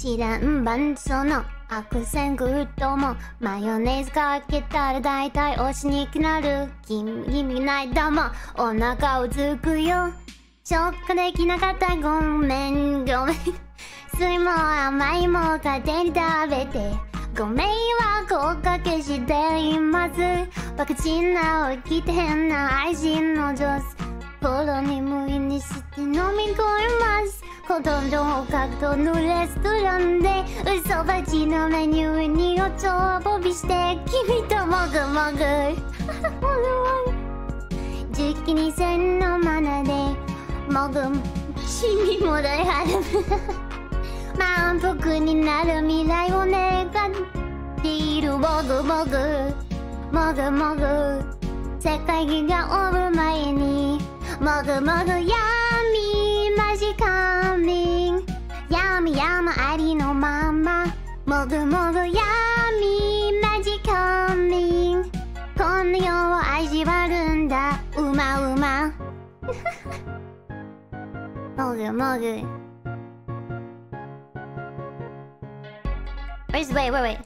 知らんばんその悪戦苦闘もマヨネーズかけたら大体推しになる君ないだもお腹をつくよ消化できなかったごめん酸いも甘いも勝手に食べてご迷惑をおかけしていますバカチンな起きて変な愛人の女子心に無意にして飲み込みますほとんどを格闘のレストランで嘘ばちのメニューにおちょぼびして君ともぐもぐ時期に線のマナでもぐ死にもだいはる満腹になる未来を願っているもぐもぐもぐもぐ世界が終わる前にもぐもぐ闇マジカミン闇山ありのままもぐもぐ闇マジカミンこの世を味わるんだうまうまもぐもぐWait.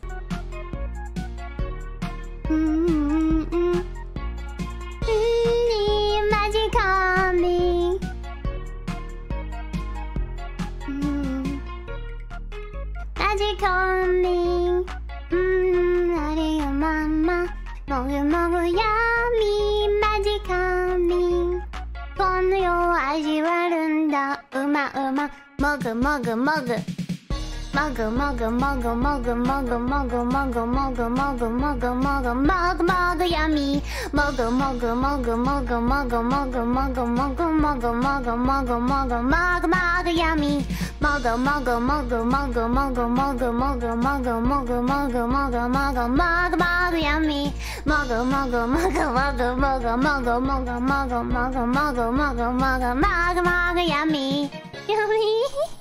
Magic coming. Magic coming. あれよママ。もぐもぐ闇マジカミン。この世を味わるんだ。うまうま。もぐもぐもぐ。もぐもぐもぐもぐもぐもぐもぐもぐもぐもぐもぐもぐもぐ闇もぐもぐもぐもぐもぐもぐもぐもぐもぐもぐもぐもぐもぐもぐ闇もぐもぐもぐもぐもぐもぐもぐもぐもぐもぐもぐもぐもぐもぐ闇もぐもぐもぐもぐもぐもぐもぐもぐもぐもぐもぐもぐもぐもぐ闇闇